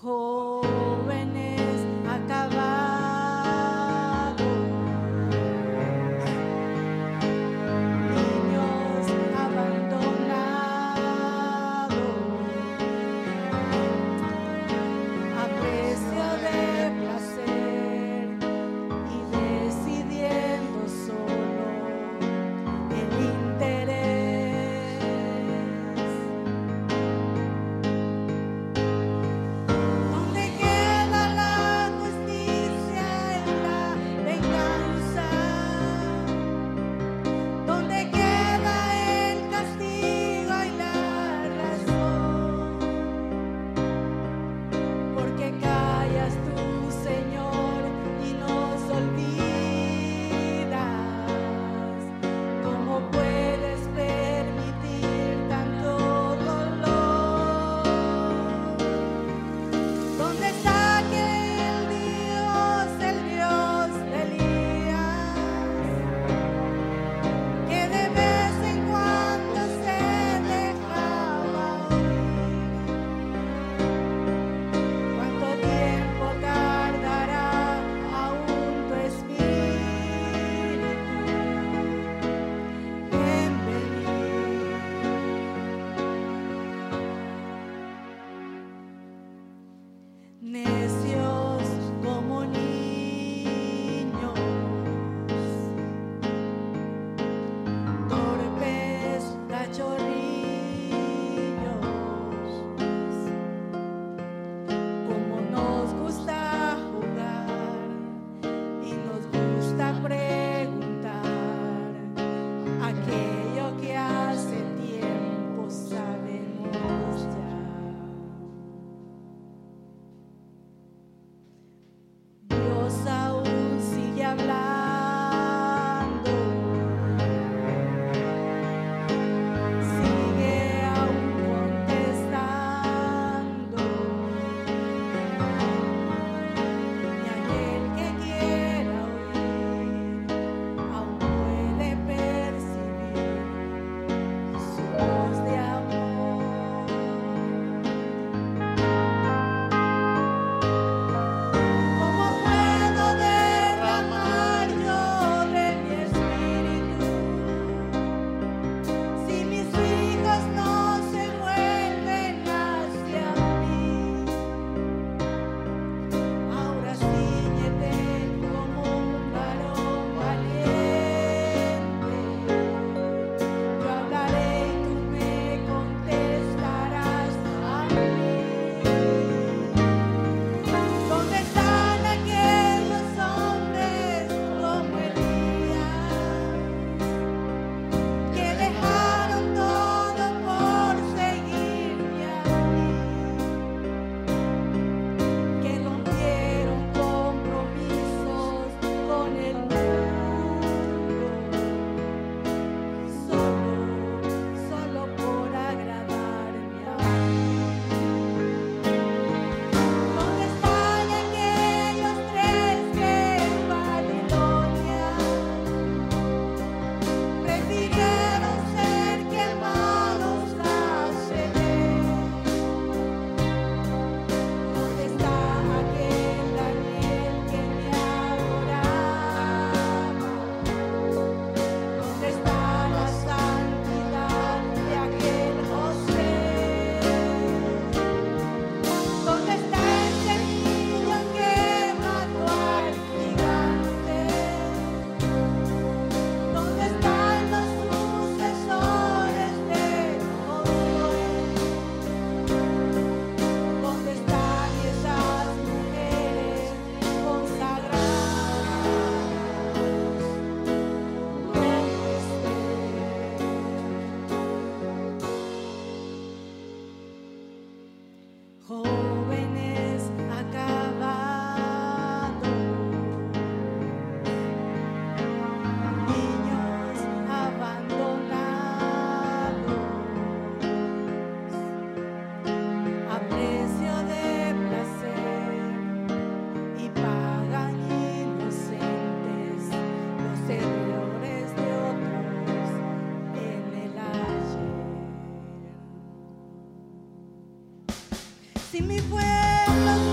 jóvenes acabados, niños abandonados, a precio de placer y decidiendo solo el interés. ¿Dónde queda la justicia en la venganza? ¿Dónde queda el castigo y la razón? Porque callas tú, Señor, y nos olvidas. ¿Cómo puedes permitir tanto dolor? ¿Dónde está aquel Dios, el Dios de Elías, que de vez en cuando se dejaba oír? ¿Cuánto tiempo tardará aún tu espíritu en venir? Necios como niños, torpes cachorrillos, como nos gusta jugar y nos gusta preguntar aquello que hace tiempo sabemos ya. Dios aún sigue hablando, sigue aún contestando, y aquel que quiera oír aún puede percibir su voz de amor. ¿Cómo puedo derramar yo de mi espíritu si mis hijos no se vuelven hacia mí? Ahora cíñete como un varón valiente. Yo hablaré y tú me contestarás a mí. ¿Dónde están aquellos hombres como Elías que dejaron todo por seguirme a mí? Que rompieron compromisos con el mundo solo por agradarme a mí. ¿Dónde están aquellos tres que en Babilonia prefirieron ser quemados a ceder? ¿Dónde está aquel Daniel que me adoraba? ¿Dónde está la santidad de aquel José? ¿Dónde está ese niño que mató al gigante? ¿Dónde están los sucesores de Josué? ¿Dónde están esas mujeres consagradas como Esther? Jóvenes acabados, niños abandonados, a precio de placer, y pagan inocentes los errores de otros en el ayer. Si mi pueblo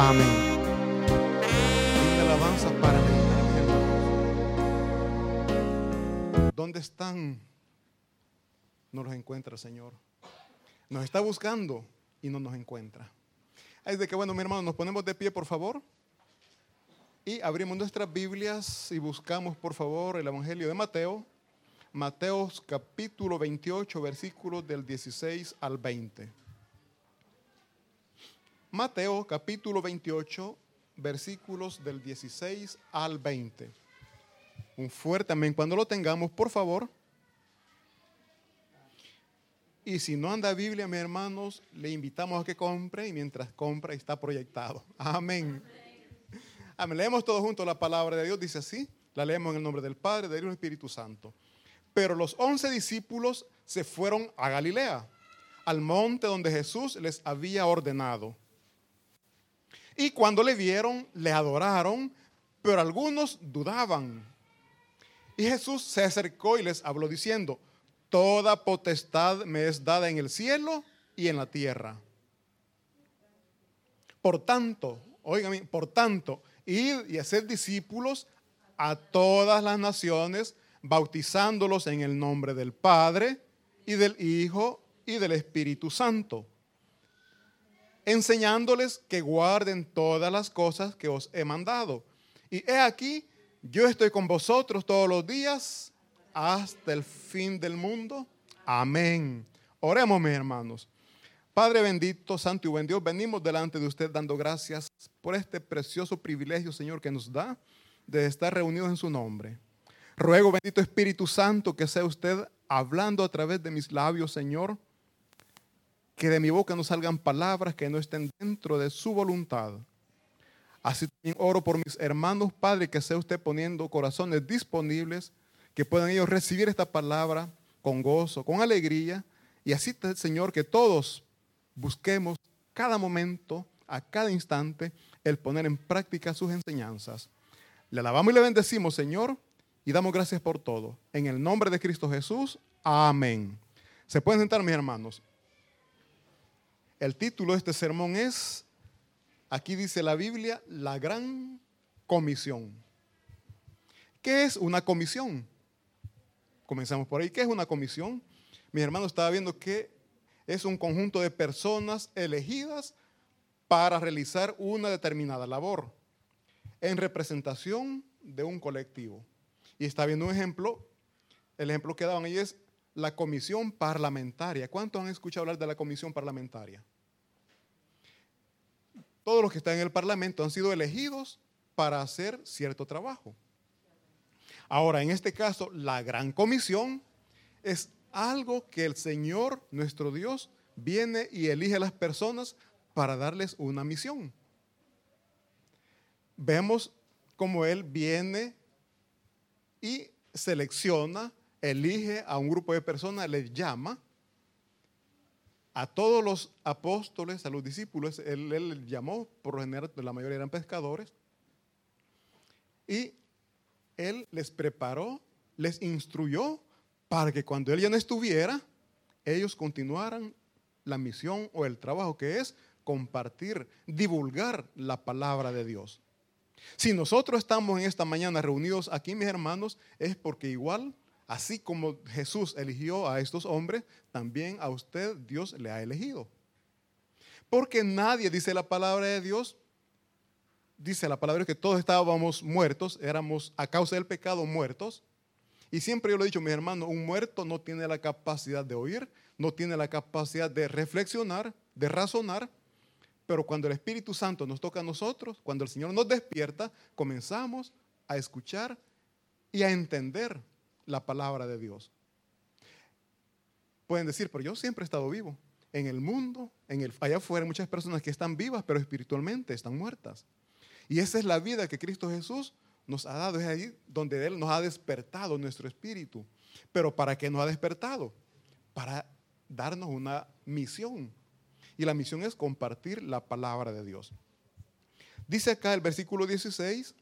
Amén. Linda alabanza para meditar, mis hermanos. ¿Dónde están? No los encuentra el Señor. Nos está buscando y no nos encuentra. Es de que, bueno, mi hermano, nos ponemos de pie, por favor. Y abrimos nuestras Biblias y buscamos, por favor, el Evangelio de Mateo. Mateo capítulo 28, versículos del 16 al 20. Mateo capítulo 28, versículos del 16 al 20. Un fuerte amén cuando lo tengamos, por favor. Y si no anda Biblia, mis hermanos, le invitamos a que compre y mientras compra está proyectado. Amén. Amén. Leemos todos juntos la palabra de Dios, dice así. La leemos en el nombre del Padre, del Hijo y del Espíritu Santo. Pero los 11 discípulos se fueron a Galilea, al monte donde Jesús les había ordenado. Y cuando le vieron, le adoraron, pero algunos dudaban. Y Jesús se acercó y les habló diciendo: toda potestad me es dada en el cielo y en la tierra. Por tanto, óigame, id y haced discípulos a todas las naciones, bautizándolos en el nombre del Padre y del Hijo y del Espíritu Santo, enseñándoles que guarden todas las cosas que os he mandado. Y he aquí, yo estoy con vosotros todos los días hasta el fin del mundo. Amén. Oremos, mis hermanos. Padre bendito, santo y buen Dios, venimos delante de usted dando gracias por este precioso privilegio, Señor, que nos da de estar reunidos en su nombre. Ruego, bendito Espíritu Santo, que sea usted hablando a través de mis labios, Señor, que de mi boca no salgan palabras que no estén dentro de su voluntad. Así también oro por mis hermanos, Padre, que sea usted poniendo corazones disponibles, que puedan ellos recibir esta palabra con gozo, con alegría, y así, Señor, que todos busquemos cada momento, a cada instante, el poner en práctica sus enseñanzas. Le alabamos y le bendecimos, Señor, y damos gracias por todo. En el nombre de Cristo Jesús, amén. Se pueden sentar, mis hermanos. El título de este sermón es, aquí dice la Biblia, la gran comisión. ¿Qué es una comisión? Comenzamos por ahí. ¿Qué es una comisión? Mis hermanos, estaba viendo que es un conjunto de personas elegidas para realizar una determinada labor en representación de un colectivo. Y está viendo un ejemplo. El ejemplo que daban ahí es la comisión parlamentaria. ¿Cuántos han escuchado hablar de la comisión parlamentaria? Todos los que están en el parlamento han sido elegidos para hacer cierto trabajo. Ahora, en este caso, la gran comisión es algo que el Señor, nuestro Dios, viene y elige a las personas para darles una misión. Vemos cómo Él viene y selecciona, elige a un grupo de personas, les llama a todos los apóstoles, a los discípulos. Él llamó, por lo general, la mayoría eran pescadores, y Él les preparó, les instruyó para que cuando Él ya no estuviera, ellos continuaran la misión o el trabajo que es compartir, divulgar la palabra de Dios. Si nosotros estamos en esta mañana reunidos aquí, mis hermanos, es porque igual, así como Jesús eligió a estos hombres, también a usted Dios le ha elegido. Porque nadie, dice la palabra de Dios, dice la palabra que todos estábamos muertos, éramos a causa del pecado muertos. Y siempre yo lo he dicho, mis hermanos, un muerto no tiene la capacidad de oír, no tiene la capacidad de reflexionar, de razonar. Pero cuando el Espíritu Santo nos toca a nosotros, cuando el Señor nos despierta, comenzamos a escuchar y a entender la palabra de Dios. Pueden decir, pero yo siempre he estado vivo. En el mundo, allá afuera hay muchas personas que están vivas, pero espiritualmente están muertas. Y esa es la vida que Cristo Jesús nos ha dado. Es ahí donde Él nos ha despertado nuestro espíritu. Pero ¿para qué nos ha despertado? Para darnos una misión. Y la misión es compartir la palabra de Dios. Dice acá el versículo 16,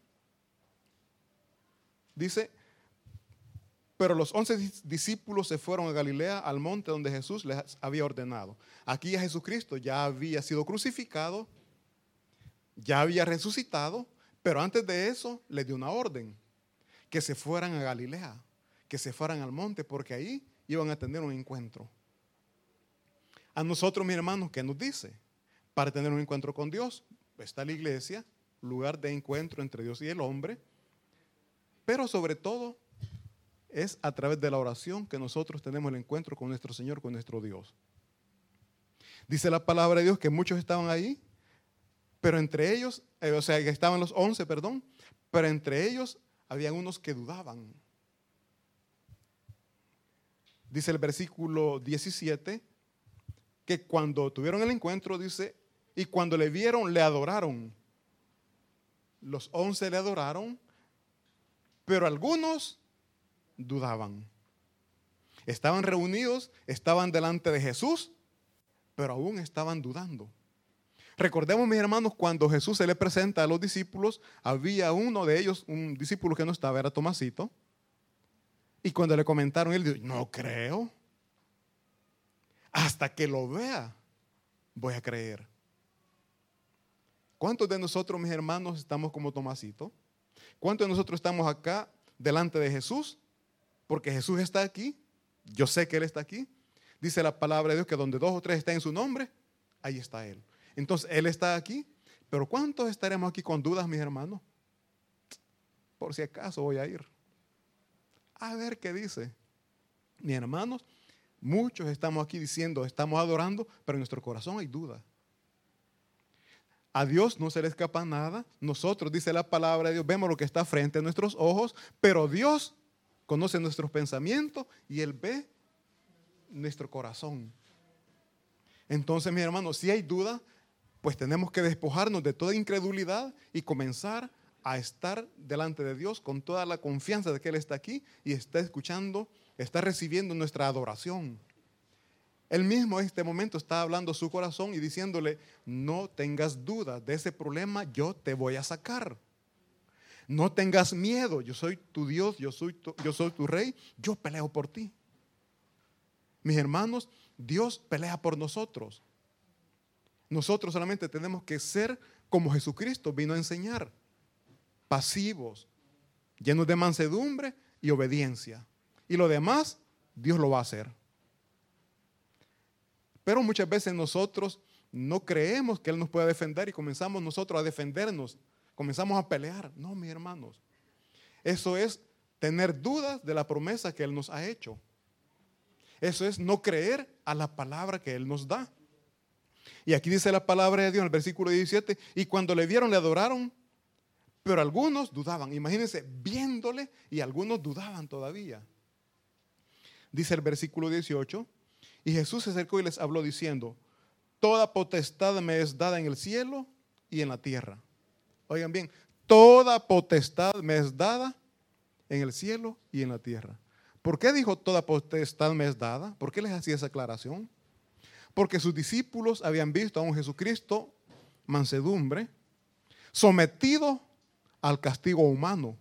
dice, pero los 11 discípulos se fueron a Galilea, al monte donde Jesús les había ordenado. Aquí a Jesucristo ya había sido crucificado, ya había resucitado, pero antes de eso les dio una orden, que se fueran a Galilea, que se fueran al monte, porque ahí iban a tener un encuentro. A nosotros, mis hermanos, ¿qué nos dice? Para tener un encuentro con Dios, está la iglesia, lugar de encuentro entre Dios y el hombre, pero sobre todo es a través de la oración que nosotros tenemos el encuentro con nuestro Señor, con nuestro Dios. Dice la palabra de Dios que muchos estaban ahí, pero entre ellos, o sea, que estaban los 11, perdón, pero entre ellos habían unos que dudaban. Dice el versículo 17, que cuando tuvieron el encuentro, dice, y cuando le vieron, le adoraron. Los 11 le adoraron, pero algunos dudaban. Estaban reunidos, estaban delante de Jesús, pero aún estaban dudando. Recordemos, mis hermanos, cuando Jesús se le presenta a los discípulos, había uno de ellos, un discípulo que no estaba, era Tomasito. Y cuando le comentaron, él dijo, no creo. Hasta que lo vea, voy a creer. ¿Cuántos de nosotros, mis hermanos, estamos como Tomasito? ¿Cuántos de nosotros estamos acá delante de Jesús? Porque Jesús está aquí. Yo sé que Él está aquí. Dice la palabra de Dios que donde 2 o 3 estén en su nombre, ahí está Él. Entonces, Él está aquí. Pero ¿cuántos estaremos aquí con dudas, mis hermanos? Por si acaso voy a ir. A ver qué dice. Mis hermanos, muchos estamos aquí diciendo, estamos adorando, pero en nuestro corazón hay duda. A Dios no se le escapa nada. Nosotros, dice la palabra de Dios, vemos lo que está frente a nuestros ojos, pero Dios conoce nuestros pensamientos y Él ve nuestro corazón. Entonces, mis hermanos, si hay duda, pues tenemos que despojarnos de toda incredulidad y comenzar a estar delante de Dios con toda la confianza de que Él está aquí y está escuchando, está recibiendo nuestra adoración. Él mismo en este momento está hablando su corazón y diciéndole, no tengas duda de ese problema, yo te voy a sacar. No tengas miedo, yo soy tu Dios, yo soy tu rey, yo peleo por ti. Mis hermanos, Dios pelea por nosotros. Nosotros solamente tenemos que ser como Jesucristo vino a enseñar, pasivos, llenos de mansedumbre y obediencia. Y lo demás, Dios lo va a hacer. Pero muchas veces nosotros no creemos que Él nos pueda defender y comenzamos nosotros a defendernos, comenzamos a pelear. No, mis hermanos, eso es tener dudas de la promesa que Él nos ha hecho. Eso es no creer a la palabra que Él nos da. Y aquí dice la palabra de Dios en el versículo 17, y cuando le vieron le adoraron, pero algunos dudaban. Imagínense, viéndole y algunos dudaban todavía. Dice el versículo 18, y Jesús se acercó y les habló diciendo, toda potestad me es dada en el cielo y en la tierra. Oigan bien, toda potestad me es dada en el cielo y en la tierra. ¿Por qué dijo toda potestad me es dada? ¿Por qué les hacía esa aclaración? Porque sus discípulos habían visto a un Jesucristo mansedumbre, sometido al castigo humano.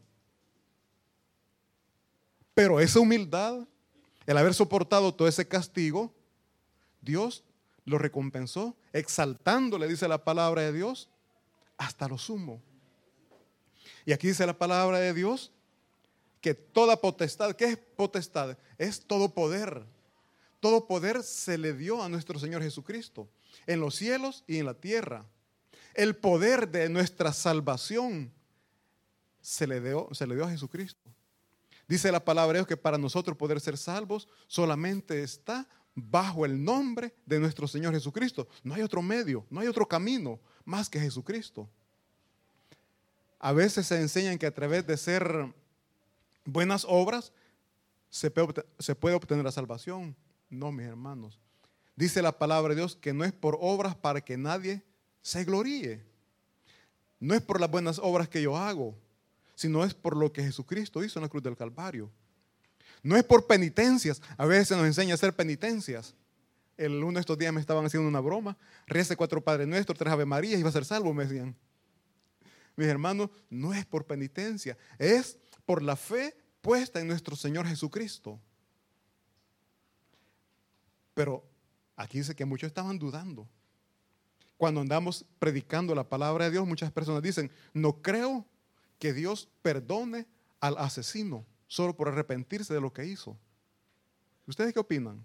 Pero esa humildad, el haber soportado todo ese castigo, Dios lo recompensó, exaltándole, dice la palabra de Dios, hasta lo sumo. Y aquí dice la palabra de Dios que toda potestad, ¿qué es potestad? Es todo poder. Todo poder se le dio a nuestro Señor Jesucristo, en los cielos y en la tierra. El poder de nuestra salvación se le dio a Jesucristo. Dice la palabra de Dios que para nosotros poder ser salvos solamente está bajo el nombre de nuestro Señor Jesucristo. No hay otro medio, no hay otro camino más que Jesucristo. A veces se enseñan que a través de ser buenas obras se puede obtener la salvación. No, mis hermanos. Dice la palabra de Dios que no es por obras para que nadie se gloríe. No es por las buenas obras que yo hago, sino es por lo que Jesucristo hizo en la cruz del Calvario. No es por penitencias. A veces nos enseña a hacer penitencias. Uno de estos días me estaban haciendo una broma. Rece 4 Padre Nuestro, 3 Ave María y va a ser salvo, me decían. Mis hermanos, no es por penitencia, es por la fe puesta en nuestro Señor Jesucristo. Pero aquí dice que muchos estaban dudando. Cuando andamos predicando la palabra de Dios, muchas personas dicen, no creo que Dios perdone al asesino solo por arrepentirse de lo que hizo. ¿Ustedes qué opinan?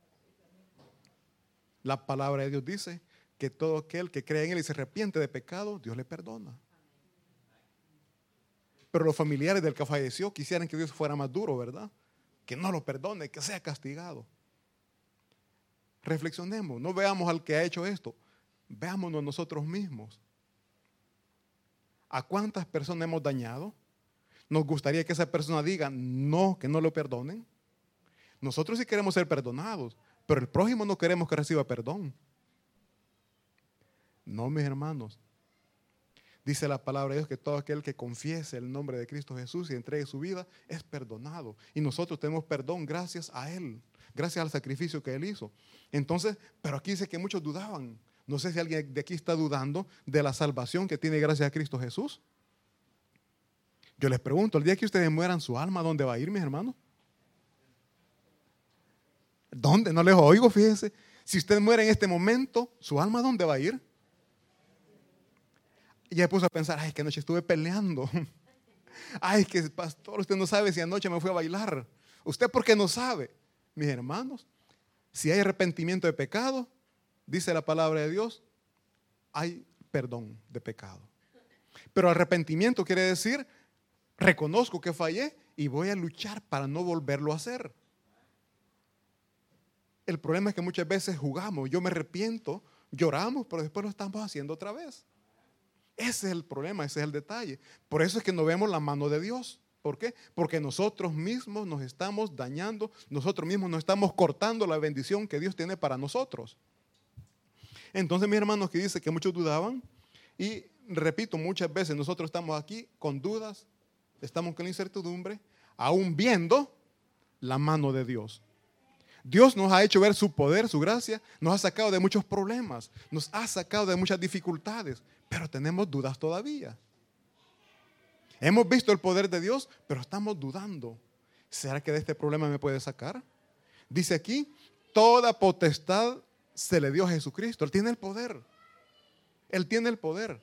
La palabra de Dios dice que todo aquel que cree en Él y se arrepiente de pecado, Dios le perdona. Pero los familiares del que falleció quisieran que Dios fuera más duro, ¿verdad? Que no lo perdone, que sea castigado. Reflexionemos, no veamos al que ha hecho esto, veámonos nosotros mismos. ¿A cuántas personas hemos dañado? Nos gustaría que esa persona diga no, que no lo perdonen. Nosotros sí queremos ser perdonados, pero el prójimo no queremos que reciba perdón. No, mis hermanos. Dice la palabra de Dios que todo aquel que confiese el nombre de Cristo Jesús y entregue su vida es perdonado. Y nosotros tenemos perdón gracias a Él, gracias al sacrificio que Él hizo. Entonces, pero aquí dice que muchos dudaban. No sé si alguien de aquí está dudando de la salvación que tiene gracias a Cristo Jesús. Yo les pregunto, el día que ustedes mueran, ¿su alma dónde va a ir, mis hermanos? ¿Dónde? No les oigo, fíjense. Si usted muere en este momento, ¿su alma dónde va a ir? Y ya me puse a pensar, ay, que anoche estuve peleando. Ay, que pastor, usted no sabe si anoche me fui a bailar. ¿Usted por qué no sabe? Mis hermanos, si hay arrepentimiento de pecado, dice la palabra de Dios, hay perdón de pecado. Pero arrepentimiento quiere decir, reconozco que fallé y voy a luchar para no volverlo a hacer. El problema es que muchas veces jugamos, yo me arrepiento, lloramos, pero después lo estamos haciendo otra vez. Ese es el problema, ese es el detalle. Por eso es que no vemos la mano de Dios. ¿Por qué? Porque nosotros mismos nos estamos dañando, nosotros mismos nos estamos cortando la bendición que Dios tiene para nosotros. Entonces, mis hermanos, que dice que muchos dudaban, y repito, muchas veces nosotros estamos aquí con dudas, estamos con incertidumbre, aún viendo la mano de Dios. Dios nos ha hecho ver su poder, su gracia, nos ha sacado de muchos problemas, nos ha sacado de muchas dificultades, pero tenemos dudas todavía. Hemos visto el poder de Dios, pero estamos dudando. ¿Será que de este problema me puede sacar? Dice aquí, toda potestad se le dio a Jesucristo. Él tiene el poder. Él tiene el poder.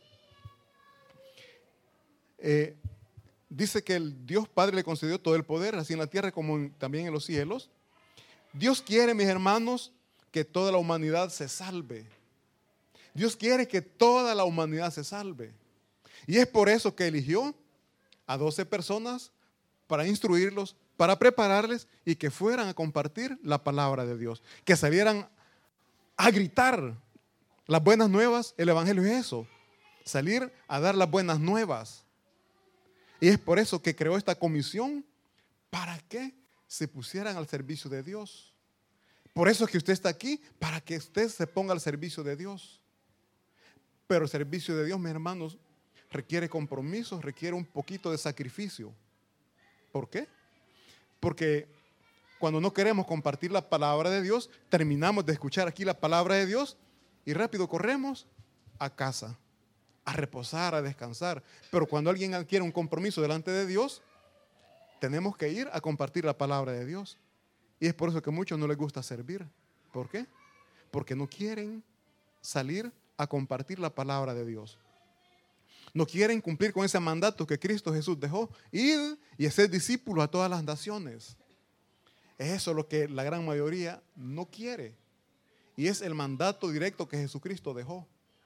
Dice que el Dios Padre le concedió todo el poder, así en la tierra como también en los cielos. Dios quiere, mis hermanos, que toda la humanidad se salve. Dios quiere que toda la humanidad se salve. Y es por eso que eligió a 12 personas para instruirlos, para prepararles y que fueran a compartir la palabra de Dios. Que salieran a gritar las buenas nuevas. El evangelio es eso, salir a dar las buenas nuevas. Y es por eso que creó esta comisión, para que se pusieran al servicio de Dios. Por eso es que usted está aquí, para que usted se ponga al servicio de Dios. Pero el servicio de Dios, mis hermanos, requiere compromiso, requiere un poquito de sacrificio. ¿Por qué? Porque cuando no queremos compartir la palabra de Dios, terminamos de escuchar aquí la palabra de Dios y rápido corremos a casa, a reposar, a descansar. Pero cuando alguien adquiere un compromiso delante de Dios, tenemos que ir a compartir la palabra de Dios. Y es por eso que a muchos no les gusta servir. ¿Por qué? Porque no quieren salir a compartir la palabra de Dios. No quieren cumplir con ese mandato que Cristo Jesús dejó, ir y hacer discípulos a todas las naciones. Es eso lo que la gran mayoría no quiere. Y es el mandato directo que Jesucristo dejó.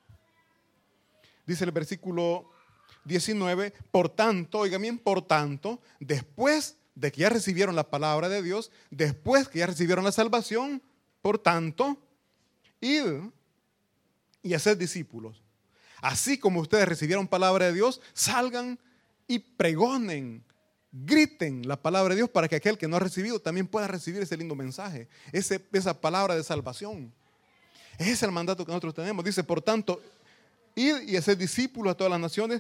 Dice el versículo 19, por tanto, oigan bien, por tanto, después de que ya recibieron la palabra de Dios, después que ya recibieron la salvación, por tanto, id y hacer discípulos. Así como ustedes recibieron palabra de Dios, salgan y pregonen, griten la palabra de Dios para que aquel que no ha recibido también pueda recibir ese lindo mensaje, esa palabra de salvación. Ese es el mandato que nosotros tenemos. Dice, por tanto, id y hacer discípulos a todas las naciones,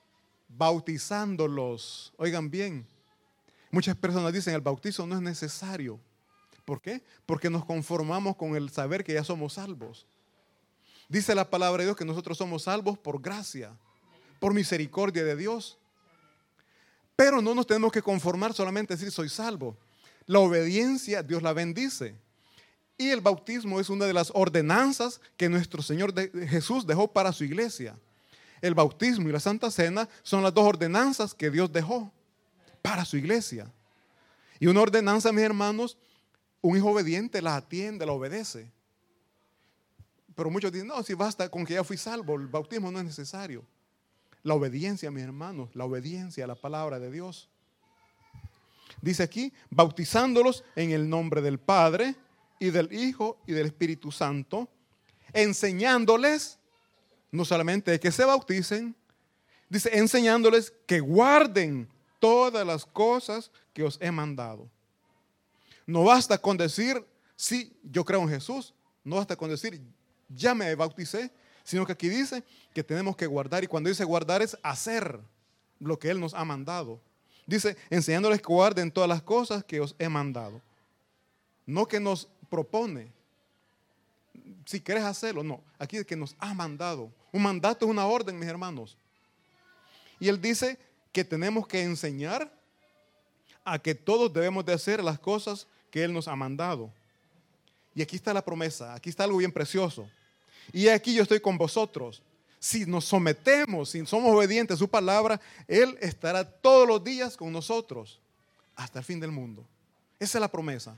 bautizándolos. Oigan bien, muchas personas dicen el bautizo no es necesario. ¿Por qué? Porque nos conformamos con el saber que ya somos salvos. Dice la palabra de Dios que nosotros somos salvos por gracia, por misericordia de Dios. Pero no nos tenemos que conformar solamente a decir soy salvo. La obediencia Dios la bendice. Y el bautismo es una de las ordenanzas que nuestro Señor Jesús dejó para su iglesia. El bautismo y la Santa Cena son las dos ordenanzas que Dios dejó para su iglesia. Y una ordenanza, mis hermanos, un hijo obediente la atiende, la obedece. Pero muchos dicen, no, si basta con que ya fui salvo, el bautismo no es necesario. La obediencia, mis hermanos, la obediencia a la palabra de Dios. Dice aquí, bautizándolos en el nombre del Padre y del Hijo y del Espíritu Santo, enseñándoles, no solamente de que se bauticen, dice, enseñándoles que guarden todas las cosas que os he mandado. No basta con decir, sí, yo creo en Jesús. No basta con decir, ya me bauticé, sino que aquí dice que tenemos que guardar. Y cuando dice guardar es hacer lo que Él nos ha mandado. Dice, enseñándoles que guarden todas las cosas que os he mandado. No que nos propone, si quieres hacerlo, no. Aquí es que nos ha mandado. Un mandato es una orden, mis hermanos. Y Él dice que tenemos que enseñar a que todos debemos de hacer las cosas que Él nos ha mandado. Y aquí está la promesa, aquí está algo bien precioso. Y aquí yo estoy con vosotros. Si nos sometemos, si somos obedientes a su palabra, Él estará todos los días con nosotros hasta el fin del mundo. Esa es la promesa.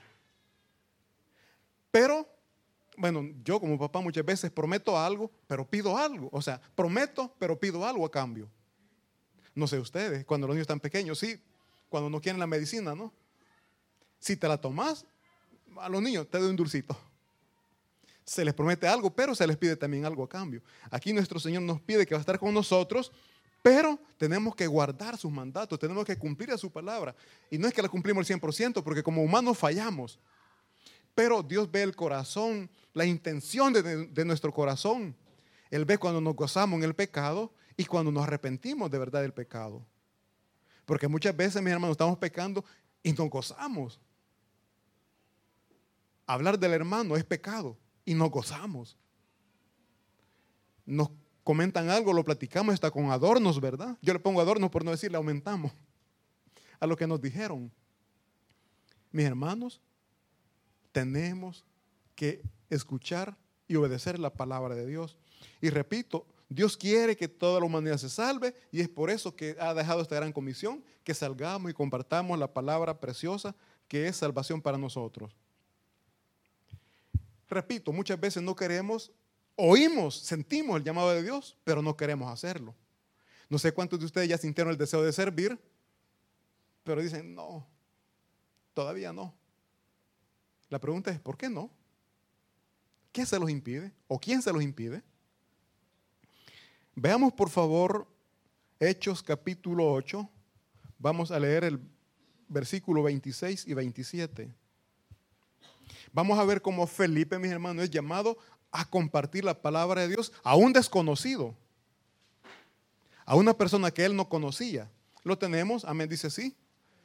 Pero, bueno, yo como papá muchas veces prometo algo, pero pido algo. O sea, prometo, pero pido algo a cambio. No sé ustedes, cuando los niños están pequeños, sí, cuando no quieren la medicina, ¿no? Si te la tomas, a los niños te doy un dulcito. Se les promete algo, pero se les pide también algo a cambio. Aquí nuestro Señor nos pide que va a estar con nosotros, pero tenemos que guardar sus mandatos, tenemos que cumplir a su palabra. Y no es que la cumplimos al 100%, porque como humanos fallamos. Pero Dios ve el corazón, la intención de nuestro corazón. Él ve cuando nos gozamos en el pecado y cuando nos arrepentimos de verdad del pecado. Porque muchas veces, mis hermanos, estamos pecando y nos gozamos. Hablar del hermano es pecado y nos gozamos. Nos comentan algo, lo platicamos hasta con adornos, ¿verdad? Yo le pongo adornos por no decirle aumentamos a lo que nos dijeron. Mis hermanos, tenemos que escuchar y obedecer la palabra de Dios. Y repito, Dios quiere que toda la humanidad se salve y es por eso que ha dejado esta gran comisión, que salgamos y compartamos la palabra preciosa que es salvación para nosotros. Repito, muchas veces no queremos, oímos, sentimos el llamado de Dios, pero no queremos hacerlo. No sé cuántos de ustedes ya sintieron el deseo de servir, pero dicen, no, todavía no. La pregunta es, ¿por qué no? ¿Qué se los impide? ¿O quién se los impide? Veamos por favor Hechos capítulo 8. Vamos a leer el versículo 26 y 27. Vamos a ver cómo Felipe, mis hermanos, es llamado a compartir la palabra de Dios a un desconocido, a una persona que él no conocía. Lo tenemos, amén, dice sí.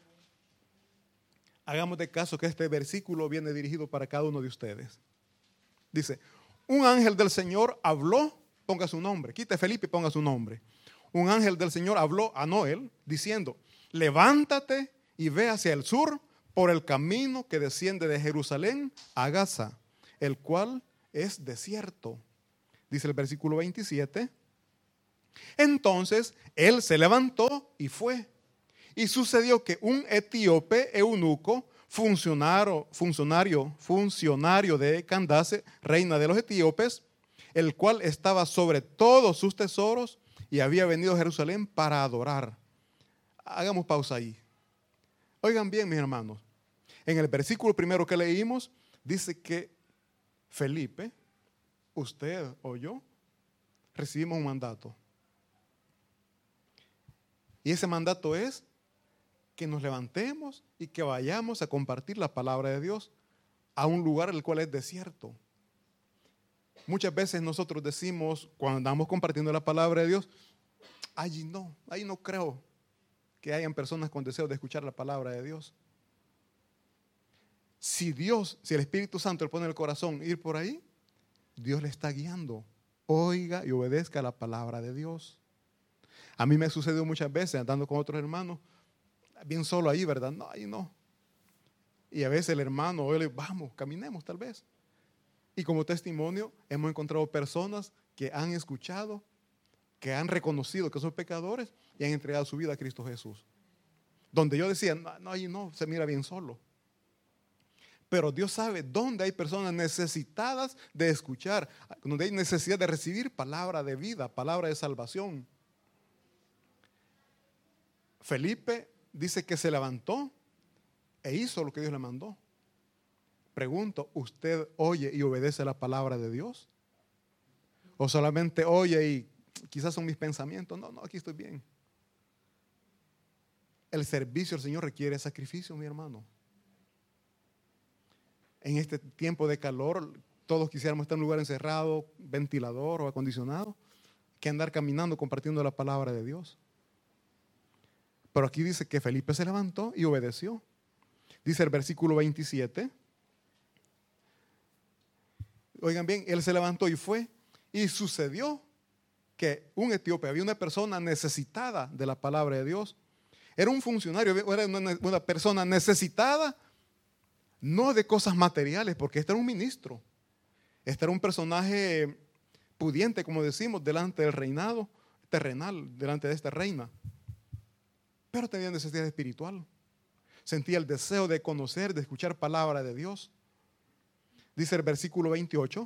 Hagamos de caso que este versículo viene dirigido para cada uno de ustedes. Dice, un ángel del Señor habló, ponga su nombre, quite Felipe y ponga su nombre. Un ángel del Señor habló a Noel diciendo, levántate y ve hacia el sur por el camino que desciende de Jerusalén a Gaza, el cual es desierto. Dice el versículo 27. Entonces él se levantó y fue. Y sucedió que un etíope eunuco, funcionario de Candace, reina de los etíopes, el cual estaba sobre todos sus tesoros y había venido a Jerusalén para adorar. Hagamos pausa ahí. Oigan bien, mis hermanos. En el versículo primero que leímos, dice que Felipe, usted o yo, recibimos un mandato. Y ese mandato es que nos levantemos y que vayamos a compartir la palabra de Dios a un lugar el cual es desierto. Muchas veces nosotros decimos, cuando andamos compartiendo la palabra de Dios, ahí no creo que hayan personas con deseo de escuchar la palabra de Dios. Si el Espíritu Santo le pone en el corazón ir por ahí, Dios le está guiando. Oiga y obedezca la palabra de Dios. A mí me ha sucedido muchas veces andando con otros hermanos, bien solo ahí, ¿verdad? No, ahí no. Y a veces el hermano, vamos, caminemos tal vez. Y como testimonio hemos encontrado personas que han escuchado, que han reconocido que son pecadores y han entregado su vida a Cristo Jesús. Donde yo decía, no, se mira bien solo. Pero Dios sabe dónde hay personas necesitadas de escuchar, donde hay necesidad de recibir palabra de vida, palabra de salvación. Felipe dice que se levantó e hizo lo que Dios le mandó. Pregunto, ¿usted oye y obedece la palabra de Dios? ¿O solamente oye y quizás son mis pensamientos? No, aquí estoy bien. El servicio al Señor requiere sacrificio, mi hermano. En este tiempo de calor, todos quisiéramos estar en un lugar encerrado, ventilador o acondicionado, que andar caminando compartiendo la palabra de Dios. Pero aquí dice que Felipe se levantó y obedeció. Dice el versículo 27. Oigan bien, él se levantó y fue. Y sucedió que un etíope, había una persona necesitada de la palabra de Dios. Era un funcionario, era una persona necesitada, no de cosas materiales, porque este era un ministro. Este era un personaje pudiente, como decimos, delante del reinado terrenal, delante de esta reina. Pero tenía necesidad espiritual. Sentía el deseo de conocer, de escuchar palabra de Dios. Dice el versículo 28.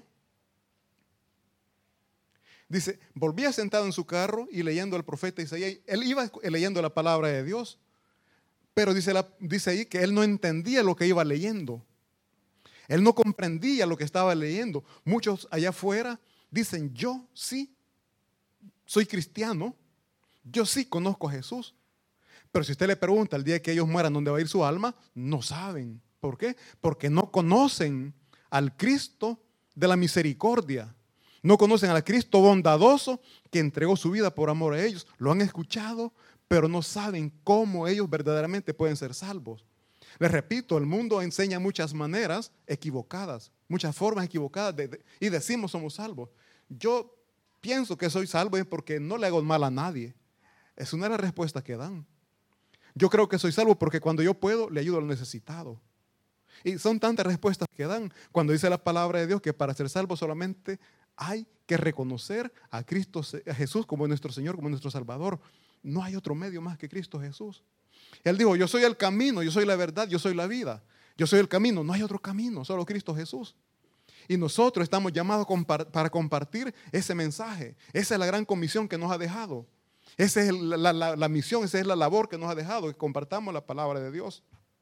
Dice, volvía sentado en su carro y leyendo al profeta Isaías. Él iba leyendo la palabra de Dios. Pero dice ahí que él no entendía lo que iba leyendo. Él no comprendía lo que estaba leyendo. Muchos allá afuera dicen, yo sí soy cristiano. Yo sí conozco a Jesús. Pero si usted le pregunta el día que ellos mueran dónde va a ir su alma, no saben. ¿Por qué? Porque no conocen al Cristo de la misericordia. No conocen al Cristo bondadoso que entregó su vida por amor a ellos. Lo han escuchado, pero no saben cómo ellos verdaderamente pueden ser salvos. Les repito, el mundo enseña muchas maneras equivocadas, muchas formas equivocadas y decimos somos salvos. Yo pienso que soy salvo es porque no le hago mal a nadie. Es una de las respuestas que dan. Yo creo que soy salvo porque cuando yo puedo le ayudo al necesitado. Y son tantas respuestas que dan cuando dice la palabra de Dios que para ser salvo solamente hay que reconocer a Cristo, a Jesús como nuestro Señor, como nuestro Salvador. No hay otro medio más que Cristo Jesús. Él dijo, yo soy el camino, yo soy la verdad, yo soy la vida. Yo soy el camino, no hay otro camino, solo Cristo Jesús. Y nosotros estamos llamados para compartir ese mensaje. Esa es la gran comisión que nos ha dejado. Esa es la misión, esa es la labor que nos ha dejado, que compartamos la palabra de Dios.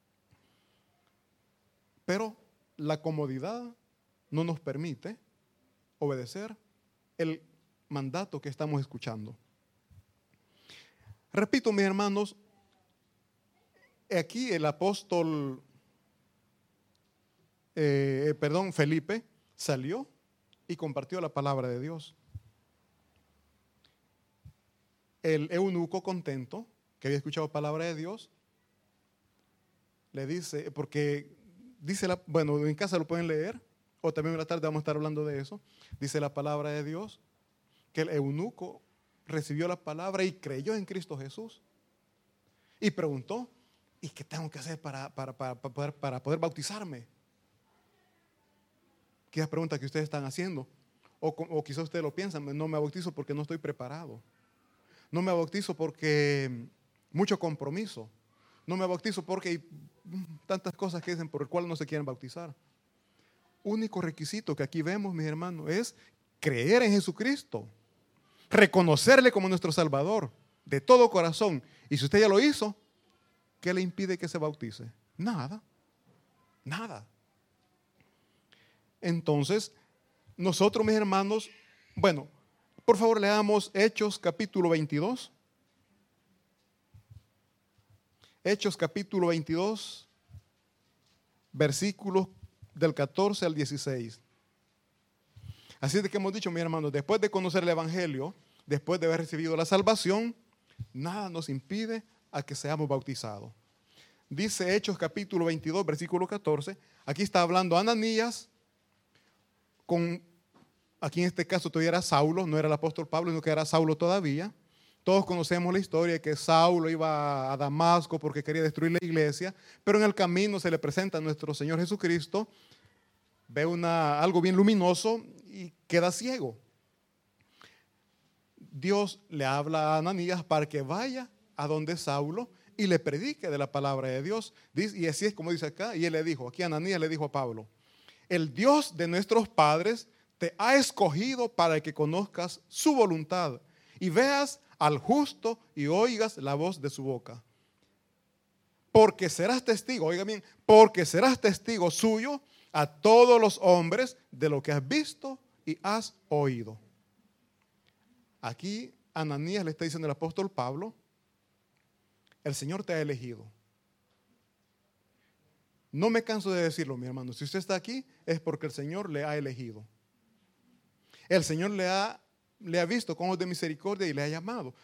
Pero la comodidad no nos permite obedecer el mandato que estamos escuchando. Repito, mis hermanos, aquí el apóstol, Felipe salió y compartió la palabra de Dios. El eunuco contento, que había escuchado palabra de Dios, le dice, porque dice, bueno, en casa lo pueden leer, o también en la tarde vamos a estar hablando de eso. Dice la palabra de Dios que el eunuco recibió la palabra y creyó en Cristo Jesús. Y preguntó, ¿y qué tengo que hacer para poder bautizarme? ¿Qué es la pregunta que ustedes están haciendo? O quizás ustedes lo piensan, no me bautizo porque no estoy preparado. No me bautizo porque mucho compromiso. No me bautizo porque hay tantas cosas que dicen por el cual no se quieren bautizar. Único requisito que aquí vemos, mis hermanos, es creer en Jesucristo. Reconocerle como nuestro Salvador de todo corazón. Y si usted ya lo hizo, ¿qué le impide que se bautice? Nada. Nada. Entonces, nosotros, mis hermanos, bueno, por favor leamos Hechos capítulo 22. Hechos capítulo 22, versículos del 14 al 16. Así es de que hemos dicho, mis hermanos, después de conocer el Evangelio, después de haber recibido la salvación, nada nos impide a que seamos bautizados. Dice Hechos capítulo 22, versículo 14. Aquí está hablando Ananías aquí en este caso todavía era Saulo, no era el apóstol Pablo, sino que era Saulo todavía. Todos conocemos la historia de que Saulo iba a Damasco porque quería destruir la iglesia, pero en el camino se le presenta a nuestro Señor Jesucristo ve algo bien luminoso y queda ciego. Dios le habla a Ananías para que vaya a donde Saulo y le predique de la palabra de Dios. Y así es como dice acá, y él le dijo, aquí Ananías le dijo a Pablo, el Dios de nuestros padres te ha escogido para que conozcas su voluntad y veas al justo y oigas la voz de su boca. Porque serás testigo, oiga bien, porque serás testigo suyo a todos los hombres de lo que has visto y has oído. Aquí Ananías le está diciendo al apóstol Pablo, el Señor te ha elegido. No me canso de decirlo, mi hermano, si usted está aquí es porque el Señor le ha elegido. El Señor le ha visto con ojos de misericordia y le ha llamado.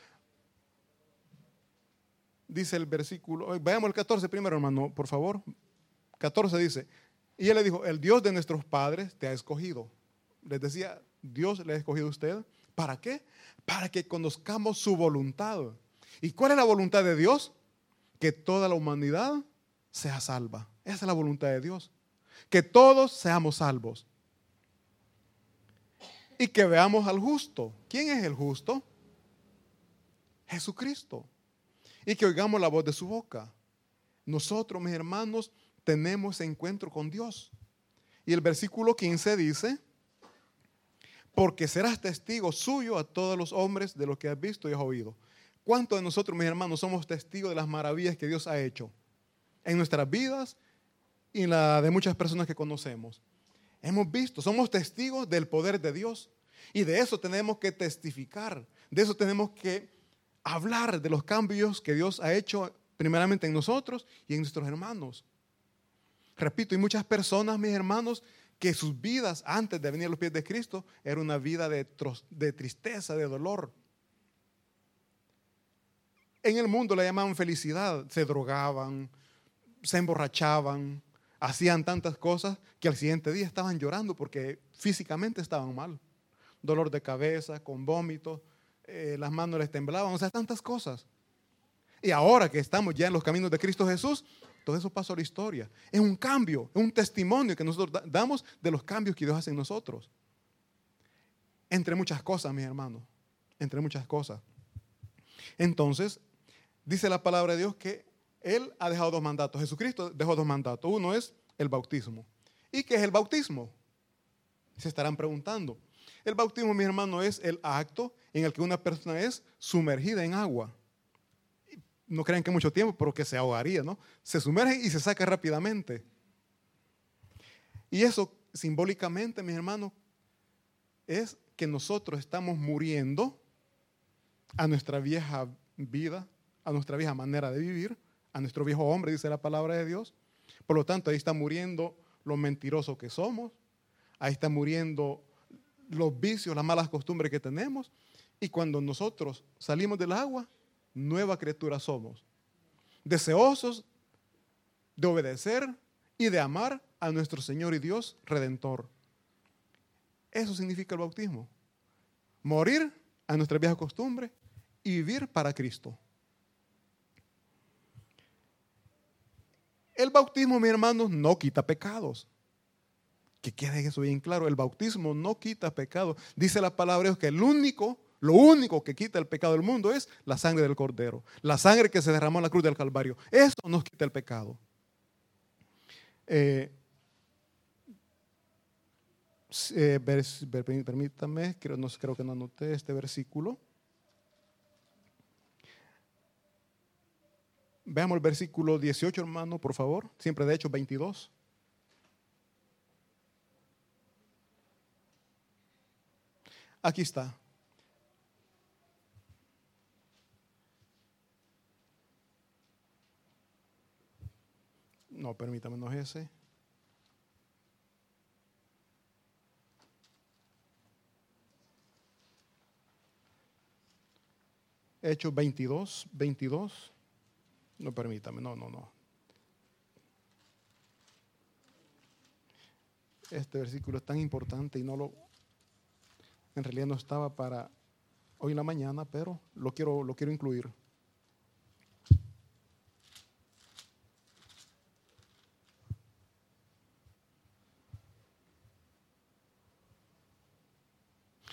Dice el versículo, veamos el 14 primero, hermano, por favor. 14 dice, y él le dijo, el Dios de nuestros padres te ha escogido. Les decía, Dios le ha escogido a usted. ¿Para qué? Para que conozcamos su voluntad. ¿Y cuál es la voluntad de Dios? Que toda la humanidad sea salva. Esa es la voluntad de Dios. Que todos seamos salvos. Y que veamos al justo. ¿Quién es el justo? Jesucristo. Y que oigamos la voz de su boca. Nosotros, mis hermanos, tenemos ese encuentro con Dios. Y el versículo 15 dice, porque serás testigo suyo a todos los hombres de lo que has visto y has oído. ¿Cuántos de nosotros, mis hermanos, somos testigos de las maravillas que Dios ha hecho en nuestras vidas y en la de muchas personas que conocemos? Hemos visto, somos testigos del poder de Dios y de eso tenemos que testificar, de eso tenemos que hablar, de los cambios que Dios ha hecho primeramente en nosotros y en nuestros hermanos. Repito, hay muchas personas, mis hermanos, que sus vidas antes de venir a los pies de Cristo era una vida de tristeza, de dolor. En el mundo la llamaban felicidad, se drogaban, se emborrachaban, hacían tantas cosas que al siguiente día estaban llorando porque físicamente estaban mal. Dolor de cabeza, con vómitos, las manos les temblaban, o sea, tantas cosas. Y ahora que estamos ya en los caminos de Cristo Jesús, todo eso pasó a la historia. Es un cambio, es un testimonio que nosotros damos de los cambios que Dios hace en nosotros. Entre muchas cosas, mis hermanos, entre muchas cosas. Entonces, dice la palabra de Dios que Él ha dejado dos mandatos. Jesucristo dejó dos mandatos. Uno es el bautismo. ¿Y qué es el bautismo? Se estarán preguntando. El bautismo, mis hermanos, es el acto en el que una persona es sumergida en agua. No crean que mucho tiempo, pero que se ahogaría, ¿no? Se sumerge y se saca rápidamente. Y eso simbólicamente, mis hermanos, es que nosotros estamos muriendo a nuestra vieja vida, a nuestra vieja manera de vivir, a nuestro viejo hombre, dice la palabra de Dios. Por lo tanto, ahí está muriendo lo mentiroso que somos, ahí está muriendo los vicios, las malas costumbres que tenemos. Y cuando nosotros salimos del agua, nueva criatura somos, deseosos de obedecer y de amar a nuestro Señor y Dios Redentor. Eso significa el bautismo. Morir a nuestra vieja costumbre y vivir para Cristo. El bautismo, mis hermanos, no quita pecados. Que quede eso bien claro, el bautismo no quita pecados. Dice la palabra de Dios que lo único que quita el pecado del mundo es la sangre del Cordero. La sangre que se derramó en la cruz del Calvario. Eso nos quita el pecado. Permítame, creo que no anoté este versículo. Veamos el versículo 18, hermano, por favor. Siempre de Hechos 22. Aquí está. No, permítame, no es ese. Hechos 22. No, permítame, no. Este versículo es tan importante y en realidad no estaba para hoy en la mañana, pero lo quiero incluir.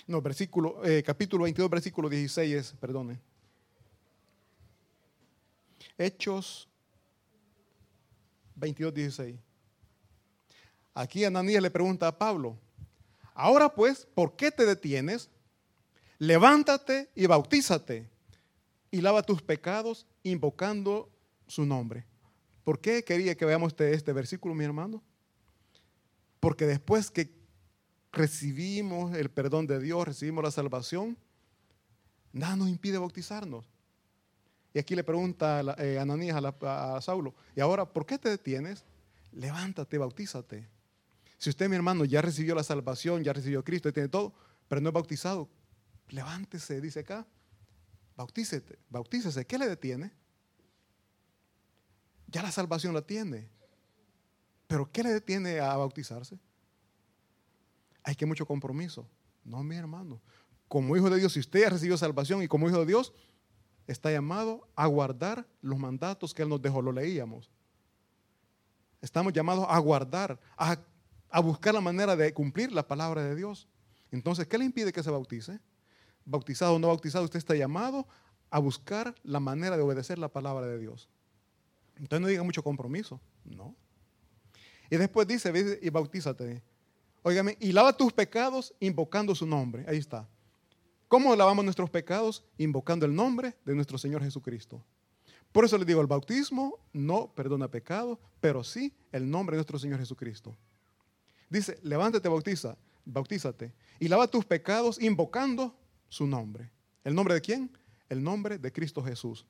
No, capítulo 22, versículo 16 perdone. Hechos 22, 16. Aquí Ananías le pregunta a Pablo, ahora pues, ¿por qué te detienes? Levántate y bautízate y lava tus pecados invocando su nombre. ¿Por qué quería que veamos este versículo, mi hermano? Porque después que recibimos el perdón de Dios, recibimos la salvación, nada nos impide bautizarnos. Y aquí le pregunta Ananías a Saulo, y ahora, ¿por qué te detienes? Levántate, bautízate. Si usted, mi hermano, ya recibió la salvación, ya recibió a Cristo, tiene todo, pero no es bautizado, levántese, dice acá, bautícese. ¿Qué le detiene? Ya la salvación la tiene. ¿Pero qué le detiene a bautizarse? Hay que mucho compromiso. No, mi hermano. Como hijo de Dios, si usted ya recibió salvación y como hijo de Dios, está llamado a guardar los mandatos que Él nos dejó, lo leíamos. Estamos llamados a guardar, a buscar la manera de cumplir la palabra de Dios. Entonces, ¿qué le impide que se bautice? Bautizado o no bautizado, usted está llamado a buscar la manera de obedecer la palabra de Dios. Entonces no diga mucho compromiso, no. Y después dice, ve y bautízate. Óigame, y lava tus pecados invocando su nombre. Ahí está. ¿Cómo lavamos nuestros pecados? Invocando el nombre de nuestro Señor Jesucristo. Por eso le digo, el bautismo no perdona pecado, pero sí el nombre de nuestro Señor Jesucristo. Dice, levántate, bautízate y lava tus pecados invocando su nombre. ¿El nombre de quién? El nombre de Cristo Jesús.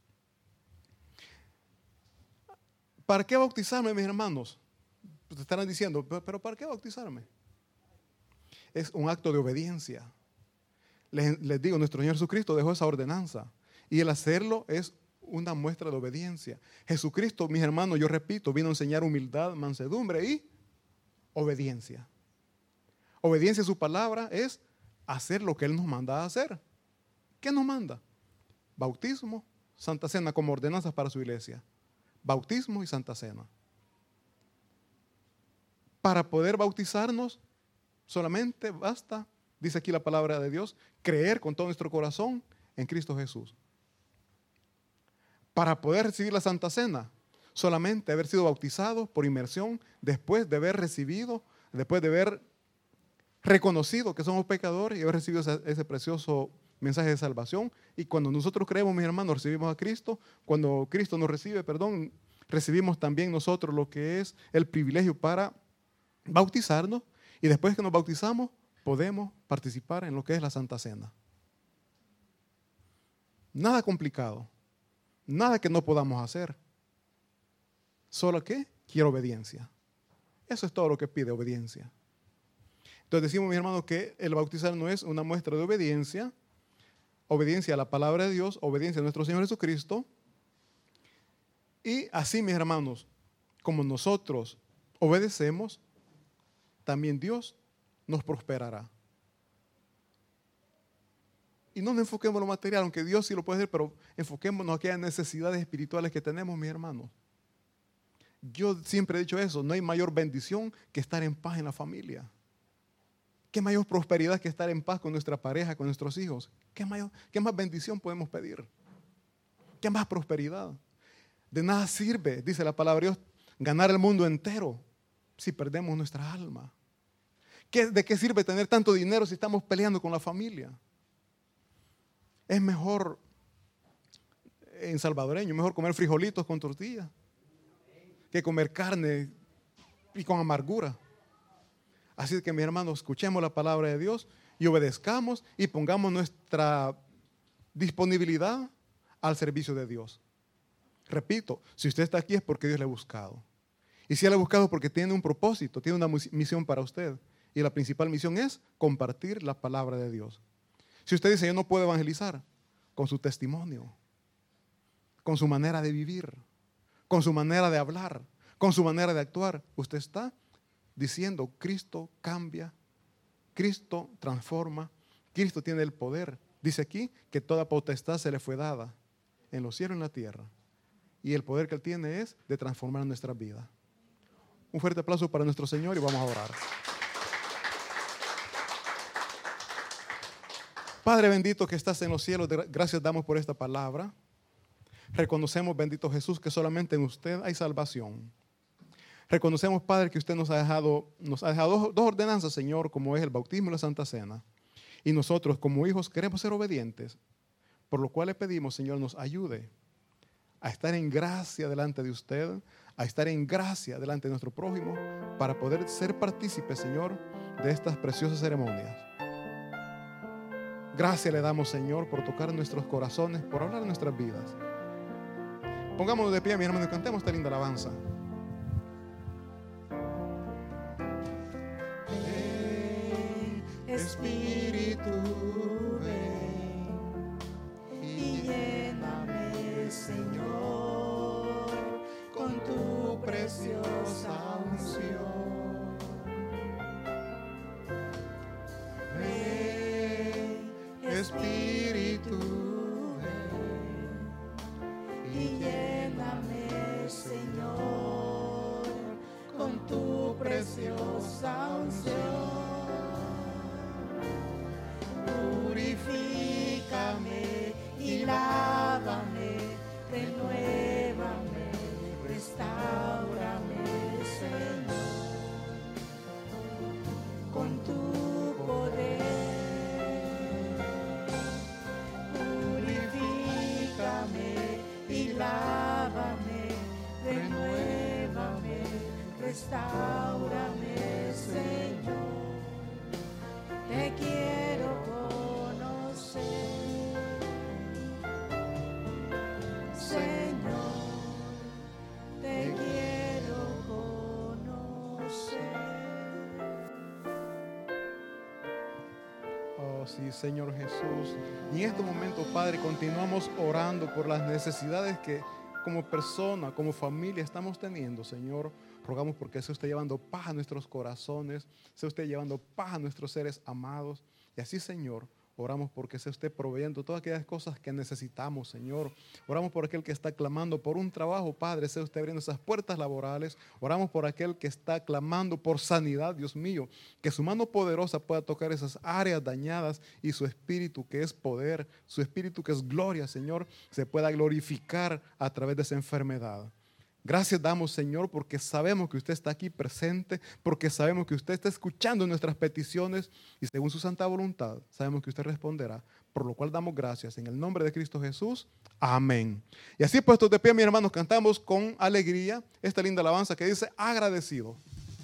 ¿Para qué bautizarme, mis hermanos? Pues estarán diciendo, pero ¿para qué bautizarme? Es un acto de obediencia. Les digo, nuestro Señor Jesucristo dejó esa ordenanza y el hacerlo es una muestra de obediencia. Jesucristo, mis hermanos, yo repito, vino a enseñar humildad, mansedumbre y obediencia. Obediencia a su palabra es hacer lo que Él nos manda a hacer. ¿Qué nos manda? Bautismo, Santa Cena como ordenanzas para su iglesia. Bautismo y Santa Cena. Para poder bautizarnos, solamente basta, dice aquí la palabra de Dios, creer con todo nuestro corazón en Cristo Jesús. Para poder recibir la Santa Cena, solamente haber sido bautizado por inmersión, después de haber recibido, después de haber reconocido que somos pecadores y haber recibido ese precioso mensaje de salvación. Y cuando nosotros creemos, mis hermanos, recibimos a Cristo. Cuando Cristo nos recibe, recibimos también nosotros lo que es el privilegio para bautizarnos. Y después que nos bautizamos, podemos participar en lo que es la Santa Cena. Nada complicado. Nada que no podamos hacer. Solo que quiero obediencia. Eso es todo lo que pide, obediencia. Entonces decimos, mis hermanos, que el bautizar no es una muestra de obediencia, obediencia a la palabra de Dios, obediencia a nuestro Señor Jesucristo. Y así, mis hermanos, como nosotros obedecemos, también Dios nos prosperará. Y no nos enfoquemos en lo material, aunque Dios sí lo puede hacer, pero enfoquémonos en aquellas necesidades espirituales que tenemos, mis hermanos. Yo siempre he dicho eso, no hay mayor bendición que estar en paz en la familia. ¿Qué mayor prosperidad que estar en paz con nuestra pareja, con nuestros hijos? ¿Qué más bendición podemos pedir? ¿Qué más prosperidad? De nada sirve, dice la palabra de Dios, ganar el mundo entero si perdemos nuestra alma. ¿De qué sirve tener tanto dinero si estamos peleando con la familia? Es mejor, en salvadoreño, mejor comer frijolitos con tortilla que comer carne y con amargura. Así que, mis hermanos, escuchemos la palabra de Dios y obedezcamos y pongamos nuestra disponibilidad al servicio de Dios. Repito, si usted está aquí es porque Dios le ha buscado. Y si Él le ha buscado es porque tiene un propósito, tiene una misión para usted. Y la principal misión es compartir la palabra de Dios. Si usted dice, yo no puedo evangelizar, con su testimonio, con su manera de vivir, con su manera de hablar, con su manera de actuar, usted está diciendo, Cristo cambia, Cristo transforma, Cristo tiene el poder. Dice aquí que toda potestad se le fue dada en los cielos y en la tierra. Y el poder que Él tiene es de transformar nuestra vida. Un fuerte aplauso para nuestro Señor y vamos a orar. Padre bendito que estás en los cielos, gracias damos por esta palabra. Reconocemos, bendito Jesús, que solamente en usted hay salvación. Reconocemos, Padre, que usted nos ha dejado dos ordenanzas, Señor, como es el bautismo y la Santa Cena. Y nosotros, como hijos, queremos ser obedientes, por lo cual le pedimos, Señor, nos ayude a estar en gracia delante de usted, a estar en gracia delante de nuestro prójimo, para poder ser partícipes, Señor, de estas preciosas ceremonias. Gracias le damos, Señor, por tocar nuestros corazones, por hablar en nuestras vidas. Pongámonos de pie, mi hermano, y cantemos esta linda alabanza. Ven, Espíritu, ven y lléname, Señor, con tu preciosa unción. Ven, Espíritu, y lléname, Señor, con tu preciosa unción. Purifícame y lávame, renuévame, restáurame, Señor, con tu poder. Purifícame y lávame, renuévame, restáurame, Señor. Te quiero conocer, Señor. Te quiero conocer. Oh, sí, Señor Jesús. Y en este momento, Padre, continuamos orando por las necesidades que como persona, como familia estamos teniendo, Señor. Rogamos porque sea usted llevando paz a nuestros corazones, sea usted llevando paz a nuestros seres amados. Y así, Señor, oramos porque sea usted proveyendo todas aquellas cosas que necesitamos, Señor. Oramos por aquel que está clamando por un trabajo, Padre, sea usted abriendo esas puertas laborales. Oramos por aquel que está clamando por sanidad, Dios mío, que su mano poderosa pueda tocar esas áreas dañadas y su espíritu que es poder, su espíritu que es gloria, Señor, se pueda glorificar a través de esa enfermedad. Gracias damos, Señor, porque sabemos que usted está aquí presente, porque sabemos que usted está escuchando nuestras peticiones y según su santa voluntad, sabemos que usted responderá, por lo cual damos gracias. En el nombre de Cristo Jesús, amén. Y así puestos de pie, mis hermanos, cantamos con alegría esta linda alabanza que dice, agradecido.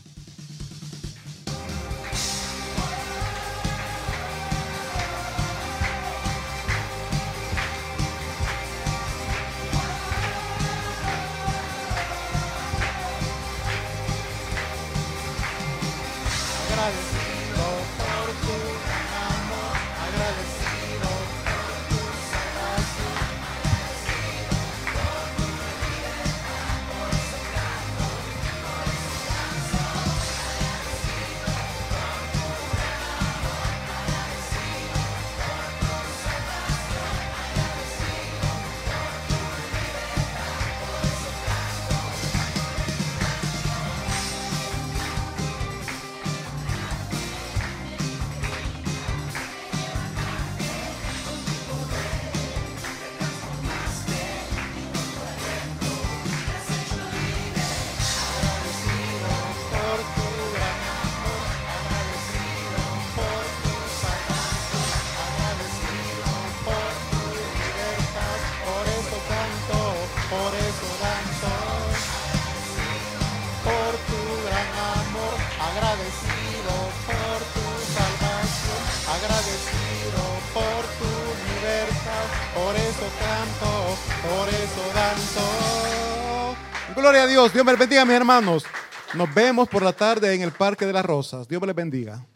Agradecido por tu amor, agradecido por tu salvación, agradecido por tu libertad, por eso canto mi corazón, agradecido por tu gran amor, agradecido por tu salvación, agradecido por tu libertad, por eso canto. Por eso danzo, por tu gran amor, agradecido por tu salvación, agradecido por tu libertad, por eso canto, por eso danzo. Gloria a Dios. Dios me les bendiga, mis hermanos. Nos vemos por la tarde en el Parque de las Rosas. Dios me les bendiga.